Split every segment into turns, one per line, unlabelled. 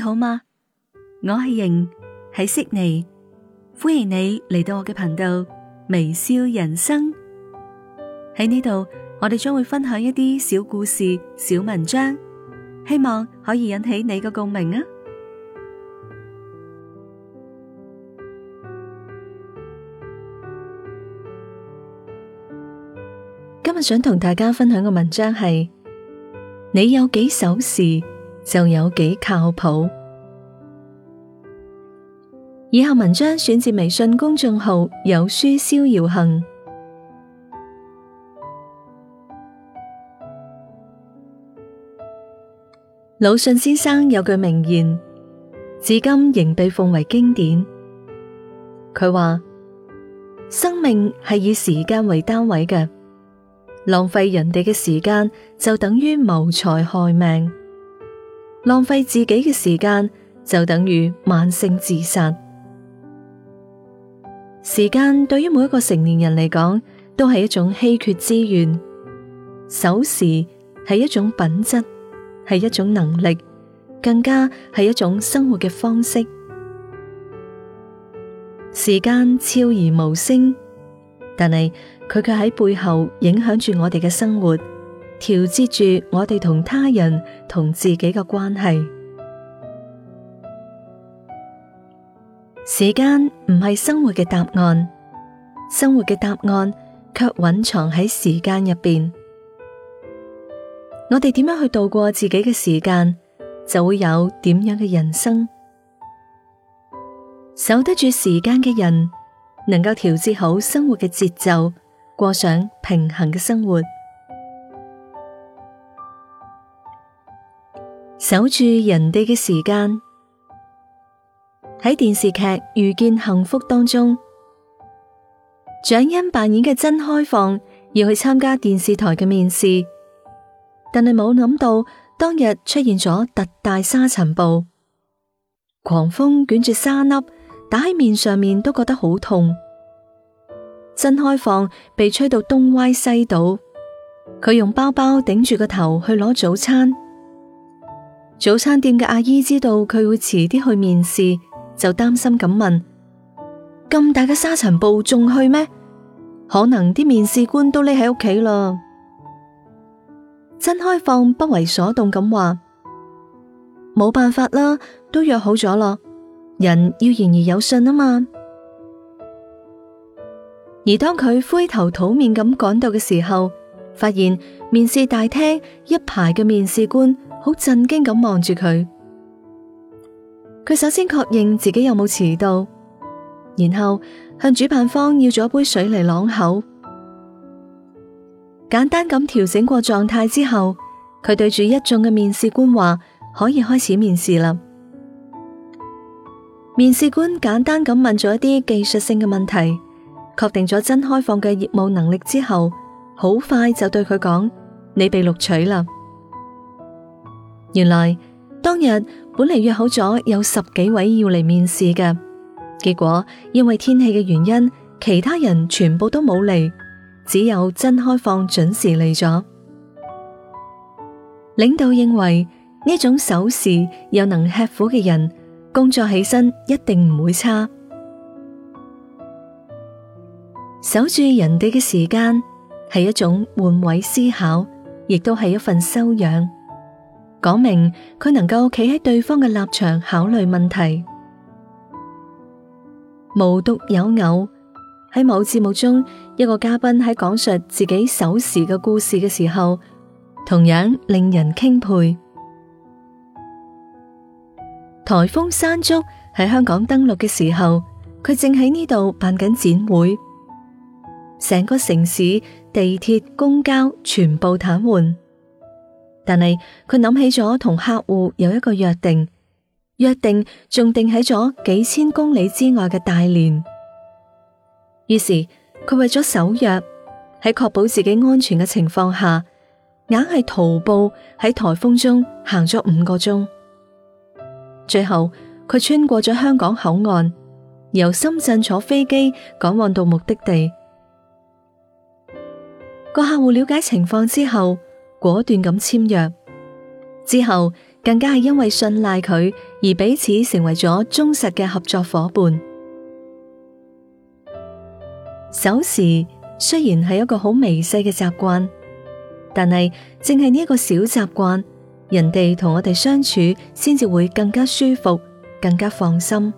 好嗎？我係瑩，喺悉尼，歡迎你嚟到我嘅頻道微笑人生。喺呢度，我哋將會分享一啲小故事、小文章，希望可以引起你嘅共鳴啊！今日想同大家分享嘅文章係：你有幾守時，就有幾靠譜。以下文章選自微信公眾號有書逍遙行。魯迅先生有句名言，至今仍被奉為經典。佢話：生命係以時間為單位嘅，浪費人哋嘅時間就等於謀財害命，浪費自己嘅時間就等於慢性自殺。時間對於每一個成年人嚟講，都係一種稀缺資源。守時係一種品質，係一種能力，更加係一種生活嘅方式。時間悄然無聲，但係佢卻喺背後影響住我哋嘅生活，調節住我哋同他人、同自己嘅關係。時間唔係生活嘅答案，生活嘅答案卻蘊藏喺時間入邊。我哋點樣去度過自己嘅時間，就會有點樣嘅人生。守得住時間嘅人，能夠調節好生活嘅節奏，過上平衡嘅生活。守住人哋嘅時間。喺電視劇《遇見幸福》當中，蔣欣扮演嘅曾開放要去參加電視台嘅面試，但係冇諗到當日出現咗特大沙塵暴，狂風捲住沙粒打喺面上面都覺得好痛。曾開放被吹到東歪西倒，佢用包包頂住個頭去攞早餐。早餐店嘅阿姨知道佢會遲啲去面試，就擔心咁問：咁大嘅沙塵暴仲去咩？可能啲面試官都匿喺屋企啦。曾開放不為所動咁話：冇辦法啦，都約好咗啦，人要言而有信啊嘛。而當佢灰頭土面咁趕到嘅時候，發現面試大廳一排嘅面試官好震驚咁望住佢。佢首先確認自己有冇遲到，然後向主辦方要咗一杯水嚟啷口。簡單咁調整過狀態之後，佢對住一眾嘅面試官話：可以開始面試啦。面試官簡單咁問咗一啲技術性嘅問題，確定咗曾開放嘅業務能力之後，好快就對佢講：你被錄取啦。原來當日本嚟約好咗有10幾位要嚟面試嘅，結果因為天氣嘅原因，其他人全部都冇嚟，只有曾開放準時嚟咗。領導認為呢種守時又能吃苦嘅人，工作起身一定唔會差。守住人哋嘅時間係一種換位思考，亦都係一份修養。講明佢能夠企喺對方嘅立場考慮問題。無獨有偶，喺某節目中，一個嘉賓喺講述自己守時嘅故事嘅時候，同樣令人欽佩。颱風山竹喺香港登陸嘅時候，佢正喺呢度辦緊展會，成個城市地鐵、公交全部癱瘓。但係佢諗起咗同客戶有一個約定仲定喺咗幾千公里之外嘅大連。於是佢為咗守約，喺確保自己安全嘅情況下，硬係徒步喺颱風中行咗5個鐘。最後佢穿過咗香港口岸，由深圳坐飛機趕往到目的地。個客戶了解情況之後，果斷咁簽約，之後更加係因為信賴佢而而彼此成為咗忠實嘅合作夥伴。守時雖然係一個好微細嘅習慣，但係正係呢一個小習慣，人哋同我哋相處先至會更加舒服，更加放心。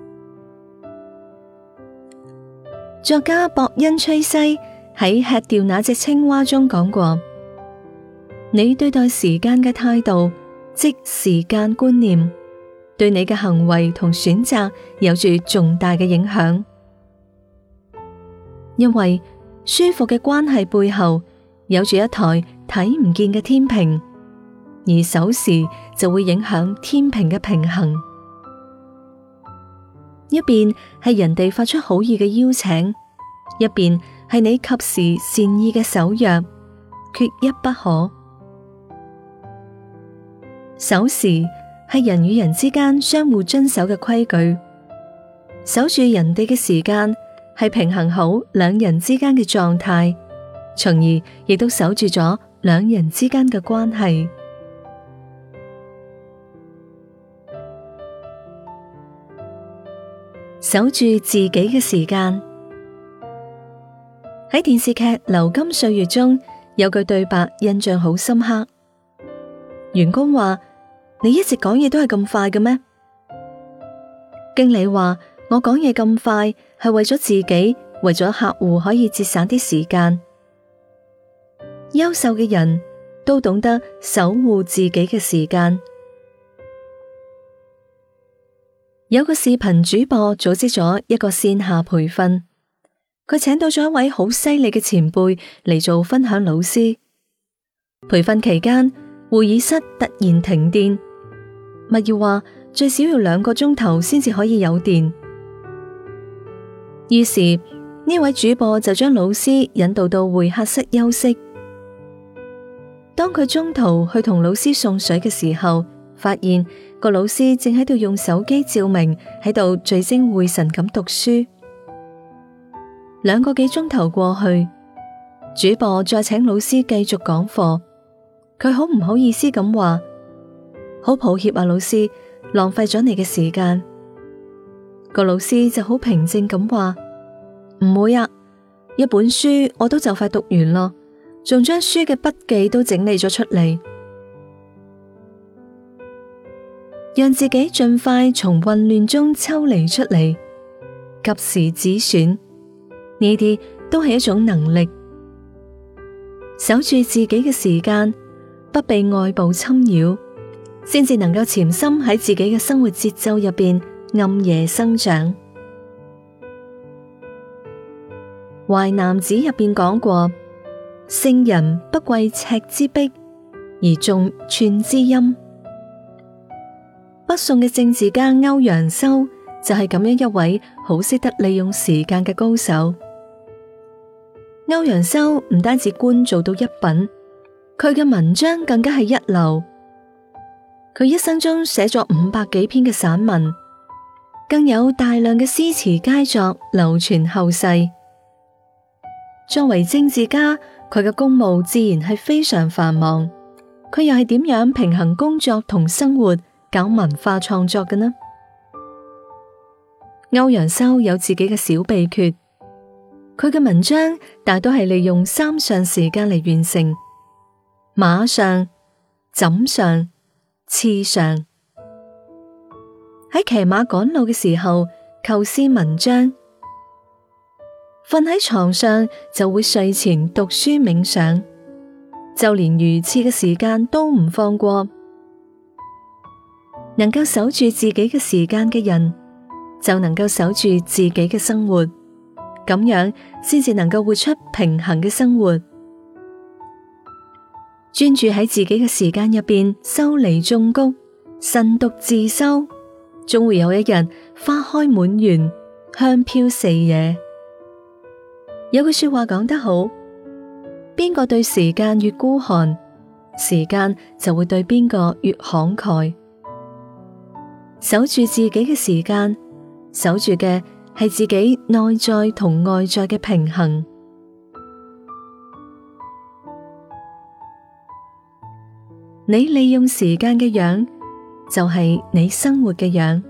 作家博恩崔西喺《吃掉那隻青蛙》中講過：你對待時間嘅態度，即時間觀念，對你嘅行為同選擇有住重大嘅影響。因為舒服嘅關係背後有住一台睇唔見嘅天平，而守時就會影響天平嘅平衡。一邊係人哋發出好意嘅邀請，一邊係你及時善意嘅守約，缺一不可。守時係人與人之間相互遵守嘅規矩，守住人哋嘅時間係平衡好兩人之間嘅狀態，從而亦都守住咗兩人之間嘅關係。守住自己嘅時間。喺電視劇《流金歲月》中有句對白印象好深刻，員工話：你一直講嘢都係咁快嘅咩？經理話：我講嘢咁快係為咗自己，為咗客戶可以節省啲時間。優秀嘅人都懂得守護自己嘅時間。有個視頻主播組織咗一個線下培訓，佢請到咗一位好犀利嘅前輩嚟做分享老師。培訓期間，會議室突然停電，密要話最少要2個鐘頭先至可以有電。於是呢位主播就將老師引導到會客室休息。當佢中途去同老師送水嘅時候，發現個老師正喺度用手機照明，喺度聚精會神咁讀書。2個幾鐘頭過去，主播再請老師繼續講課，佢好唔好意思咁話：好抱歉啊，老師，浪費咗你嘅時間。個老師就好平靜咁話：唔會啊，一本書我都就快讀完咯，仲將書嘅筆記都整理咗出嚟。讓自己盡快從混亂中抽離出嚟，及時止損，呢啲都係一種能力。守住自己嘅時間，不被外部侵擾，先至能夠潛心喺自己嘅生活節奏入邊暗夜生長。淮南子入邊講過：聖人不貴尺之璧，而重寸之陰。北宋嘅政治家歐陽修就係咁樣一位好識得利用時間嘅高手。歐陽修唔單止官做到一品，佢嘅文章更加係一流。佢一生中寫咗500幾篇嘅散文，更有大量嘅詩詞佳作流傳後世。作為政治家，佢嘅公務自然係非常繁忙，佢又係點樣平衡工作同生活，搞文化創作嘅呢？歐陽修有自己嘅小秘訣，佢嘅文章大多係利用3上時間嚟完成：馬上、枕上、刺上。喺騎馬趕路嘅時候構思文章，瞓喺床上就會睡前讀書冥想，就連如廁嘅時間都唔放過。能夠守住自己嘅時間嘅人，就能夠守住自己嘅生活，咁樣先至能夠活出平衡嘅生活。專注喺自己嘅時間入邊修籬種菊，慎獨自修，終會有一日花開滿園，香飄四野。有句說話講得好，邊個對時間越孤寒，時間就會對邊個越慷慨。守住自己嘅時間，守住嘅係自己內在同外在嘅平衡。你利用時間嘅樣， 就係你生活嘅樣。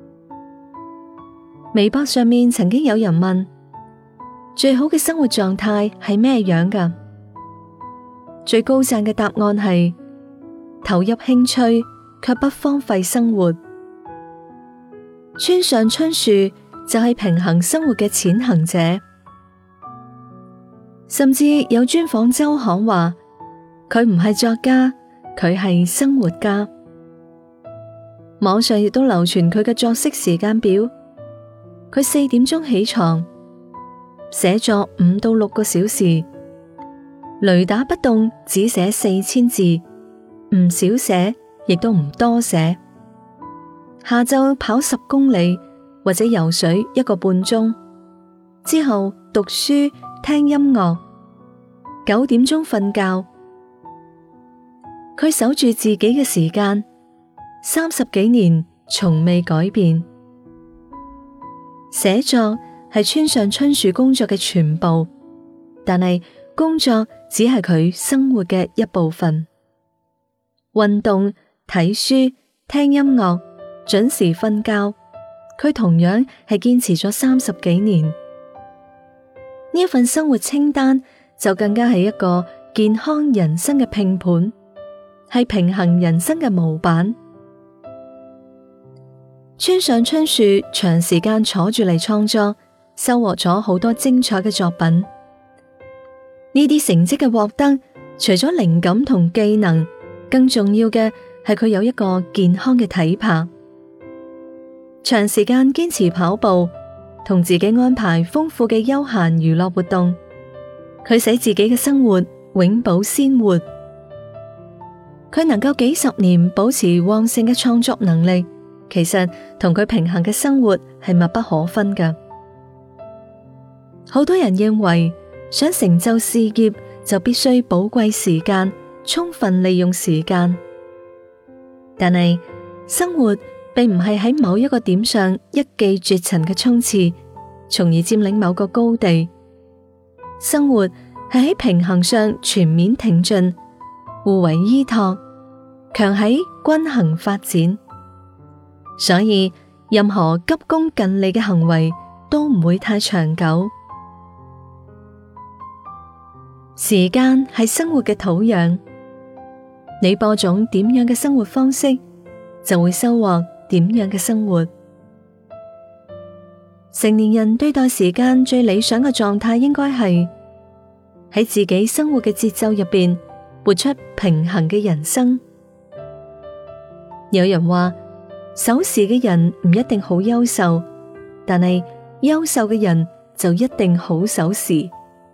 微博上面曾經有人問，最好嘅生活狀態係咩樣㗎？最高讚嘅答案係投入興趣，卻不荒廢生活。村上春樹就係平衡生活嘅踐行者，甚至有專訪周刊話佢唔係作家，佢係生活家。網上亦都流傳佢嘅作息時間表，佢4點鐘起床，寫作5到6個小時，雷打不動只寫4000字，唔少寫，亦都唔多寫。下晝跑10公里或者游水1個半鐘，之後讀書聽音樂，9點鐘瞓覺。佢守住自己嘅時間，30幾年從未改變。寫作係村上春樹工作嘅全部，但係工作只係佢生活嘅一部分。運動、睇書、聽音樂、準時瞓覺，佢同樣係堅持咗30幾年。呢一份生活清單就更加係一個健康人生嘅拼盤，係平衡人生嘅模板。村上春樹長時間坐住嚟創作，收穫咗好多精彩嘅作品。呢啲成績嘅獲得，除咗靈感同技能，更重要嘅係佢有一個健康嘅體魄。長時間堅持跑步，同自己安排豐富嘅休閒娛樂活動，佢使自己嘅生活永葆鮮活。佢能夠幾十年保持旺盛嘅創作能力，其實同佢平衡嘅生活係密不可分㗎。好多人認為想成就事業就必須寶貴時間，充分利用時間，但係生活並唔係喺某一個點上一騎絕塵嘅衝刺，從而佔領某個高地。生活係喺平衡上全面挺進，互為依託，強喺均衡發展。所以任何急功近利嘅行為都唔會太長久。時間係生活嘅土壤，你播種點樣嘅生活方式，就會收穫點樣嘅生活。成年人對待時間最理想嘅狀態，應該係喺自己生活嘅節奏入邊，活出平衡嘅人生。有人話，守時嘅人唔一定好優秀，但係優秀嘅人就一定好守時。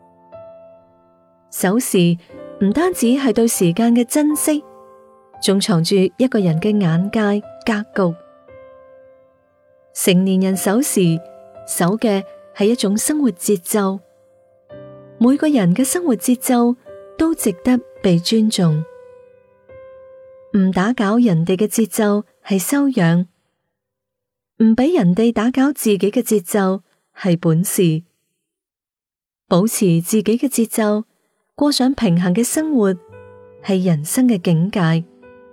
守時唔單止係對時間嘅珍惜，仲藏住一個人嘅眼界格局。成年人守時，守嘅係一種生活節奏。每個人嘅生活節奏都值得被尊重。唔打攪人哋嘅節奏係修養，唔俾人哋打攪自己嘅節奏係本事。保持自己嘅節奏，過上平衡嘅生活係人生嘅境界。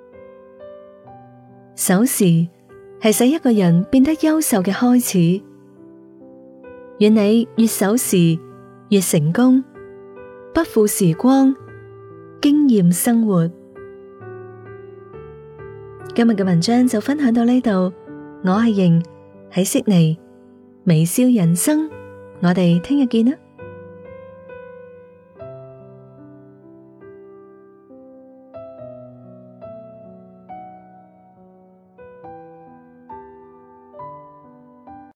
守時係使一個人變得優秀嘅開始。願你越守時越成功，不負時光，經驗生活。今日嘅文章就分享到呢度，我係瑩，喺悉尼微笑人生，我哋聽日見啦。